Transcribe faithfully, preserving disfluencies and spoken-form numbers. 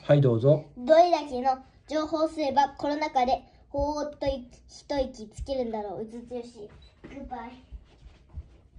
はい、どうぞ。 どれだけの情報をすればコロナ禍でほーっと一息つけるんだろう。うつつよし。グッバイ。